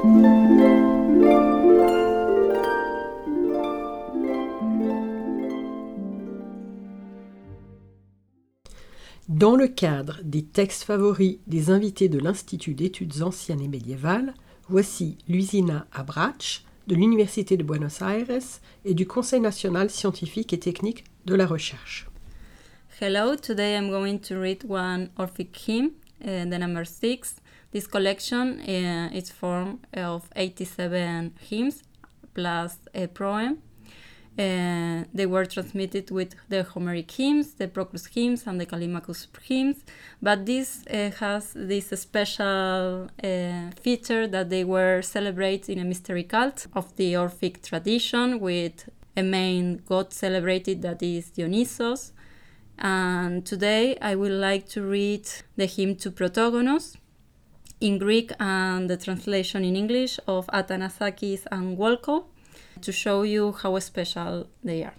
Dans le cadre des textes favoris des invités de l'Institut d'études anciennes et médiévales, voici Luisina Abrach de l'Université de Buenos Aires et du Conseil national scientifique et technique de la recherche. Hello, today I'm going to read one Orphic hymn, the number 6. This collection is formed of 87 hymns plus a poem. They were transmitted with the Homeric hymns, the Proclus hymns, and the Callimachus hymns, but this has this special feature that they were celebrated in a mystery cult of the Orphic tradition with a main god celebrated that is Dionysos. And today I would like to read the hymn to Protogonos in Greek and the translation in English of Athanasakis and Wolkow, to show you how special they are.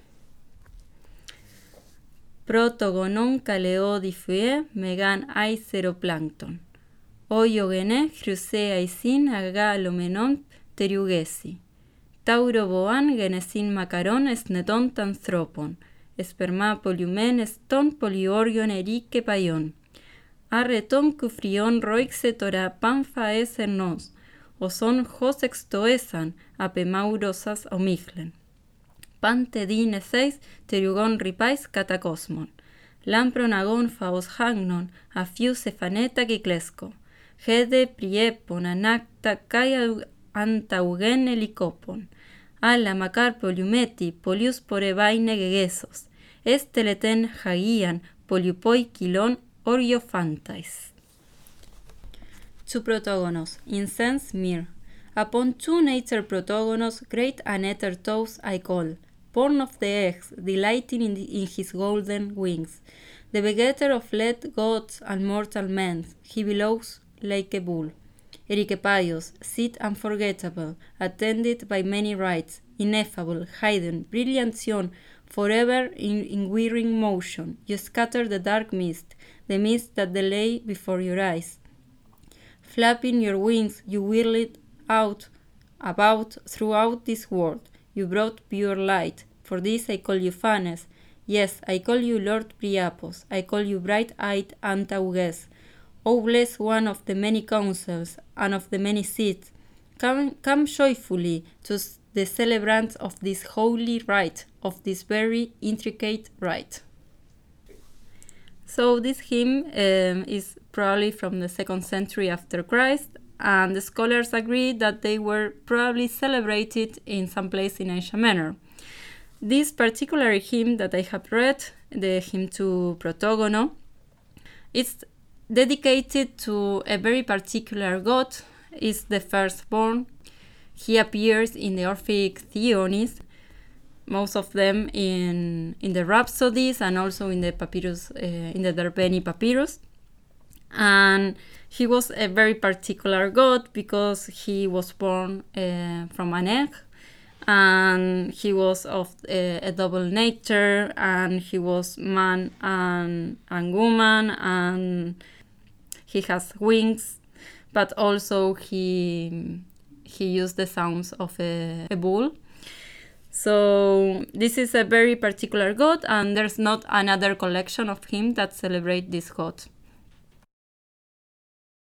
Protogonon kaleodiphue megan aiseroplankton. Oiogene chryseaisin agalomenon teriugesi. Tauroboan genesin makaron esneton tanthropon. Esperma poliumen eston poliorgion erike paion. Arreton kufrion roixe tora panfa esernos. Oson hos extoesan apemaurosas omiglen. Pante dine seis teriugon ripais catacosmon. Lampron agon faos hagnon afius efaneta kiklesco. Hede priepon anacta kai antaugen helicopon. Alla macar poliumeti polius porebaine gegesos. Esteleten hagian poliupoi kilon oriofantais. To Protogonos, incense myrrh. Upon two nature Protogonos, great Aneter toes I call, born of the eggs, delighting in his golden wings. The begetter of lead gods and mortal men, he bellows like a bull. Ericopaios, seed unforgettable, attended by many rites, ineffable, hidden, brilliantion, forever in whirring motion. You scatter the dark mist, the mist that lay before your eyes. Flapping your wings, you whirled about throughout this world. You brought pure light. For this I call you Phanes. Yes, I call you Lord Priapos. I call you bright-eyed Antauges. O blessed one of the many councils and of the many seats, come joyfully to the celebrants of this holy rite, of this very intricate rite. So this hymn is probably from the 2nd century after Christ, and the scholars agree that they were probably celebrated in some place in Asia Minor. This particular hymn that I have read, the hymn to Protogono, it's dedicated to a very particular god, is the firstborn. He appears in the Orphic theonies, most of them in the Rhapsodies and also in the papyrus, in the Derveni papyrus. And he was a very particular god because he was born from an egg, and he was of a double nature, and he was man and woman, and he has wings, but also he used the sounds of a bull. So this is a very particular god, and there's not another collection of him that celebrate this god.